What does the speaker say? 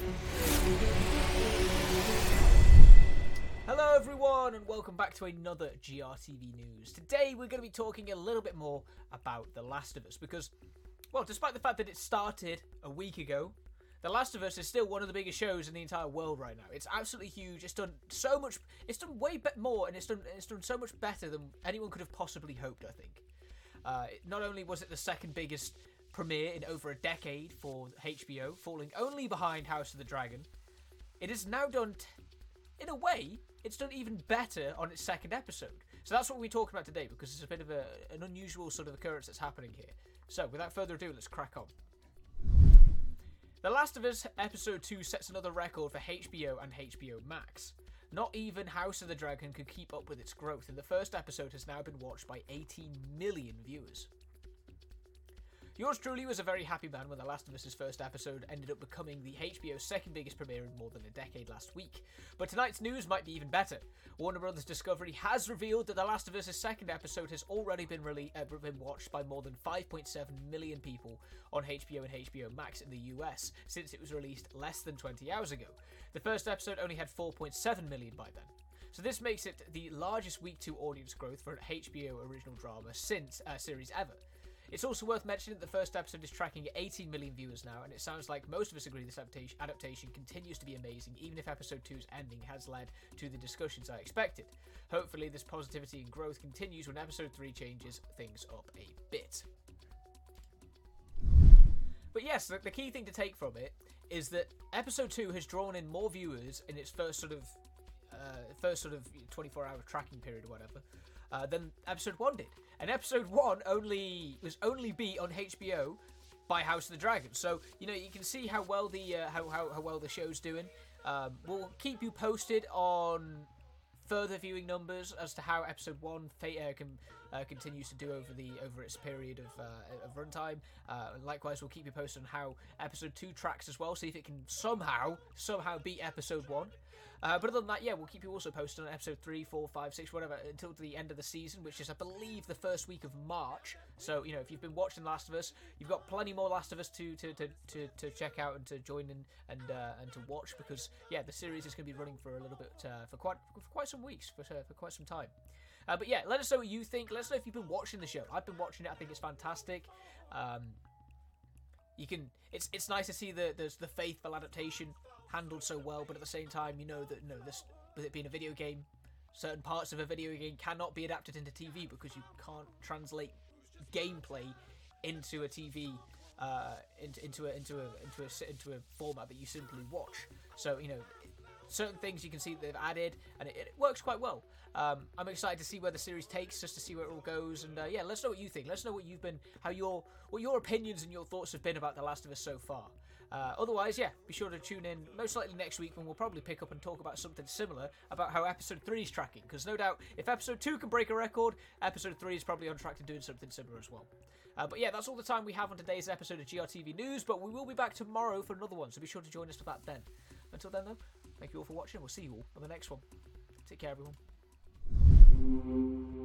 Hello everyone and welcome back to another GRTV News. Today we're going to be talking a little bit more about The Last of Us because, well, despite the fact that it started a week ago, The Last of Us is still one of the biggest shows in the entire world right now. It's absolutely huge. It's done so much. It's done way more, and it's done so much better than anyone could have possibly hoped, I think. Not only was it the second biggest premiere in over a decade for HBO, falling only behind House of the Dragon, it is now done, in a way, it's done even better on its second episode. So that's what we're talking about today, because it's a bit of an unusual sort of occurrence that's happening here. So without further ado, let's crack on. The Last of Us Episode 2 sets another record for HBO and HBO Max. Not even House of the Dragon could keep up with its growth, and the first episode has now been watched by 18 million viewers. Yours truly was a very happy man when The Last of Us' first episode ended up becoming the HBO's second biggest premiere in more than a decade last week. But tonight's news might be even better. Warner Bros. Discovery has revealed that The Last of Us' second episode has already been watched by more than 5.7 million people on HBO and HBO Max in the US since it was released less than 20 hours ago. The first episode only had 4.7 million by then. So this makes it the largest week 2 audience growth for an HBO original drama since series ever. It's also worth mentioning that the first episode is tracking at 18 million viewers now, and it sounds like most of us agree this adaptation continues to be amazing, even if episode 2's ending has led to the discussions I expected. Hopefully this positivity and growth continues when episode 3 changes things up a bit. But yes, the key thing to take from it is that episode 2 has drawn in more viewers in its first sort of 24-hour tracking period or whatever, than episode 1 did. And episode 1 was only beat on HBO by House of the Dragon. So, you know, you can see how well the how well the show's doing. We'll keep you posted on further viewing numbers as to how episode 1 continues to do over its period of runtime. And likewise, we'll keep you posted on how episode 2 tracks as well, see if it can somehow beat episode 1. But other than that, yeah, we'll keep you also posted on episode 3, 4, 5, 6, whatever, until the end of the season, which is, I believe, the first week of March. So, you know, if you've been watching Last of Us, you've got plenty more Last of Us to check out and to join in and to watch, because, yeah, the series is going to be running for a little bit, for quite some weeks, for quite some time. But yeah, let us know what you think. Let us know if you've been watching the show. I've been watching it. I think it's fantastic. It's nice to see the faithful adaptation handled so well, but at the same time, you know that this, with it being a video game, certain parts of a video game cannot be adapted into TV because you can't translate gameplay into a TV into a format that you simply watch. So, you know, certain things you can see that they've added, and it works quite well. I'm excited to see where the series takes, just to see where it all goes, and yeah, let's know what you think. Let's know what your opinions and your thoughts have been about The Last of Us so far. Otherwise, yeah, be sure to tune in most likely next week when we'll probably pick up and talk about something similar about how episode 3 is tracking, because no doubt if episode 2 can break a record, episode 3 is probably on track to doing something similar as well. But yeah, that's all the time we have on today's episode of GRTV News, but we will be back tomorrow for another one, so be sure to join us for that then. Until then, though, thank you all for watching. We'll see you all on the next one. Take care, everyone.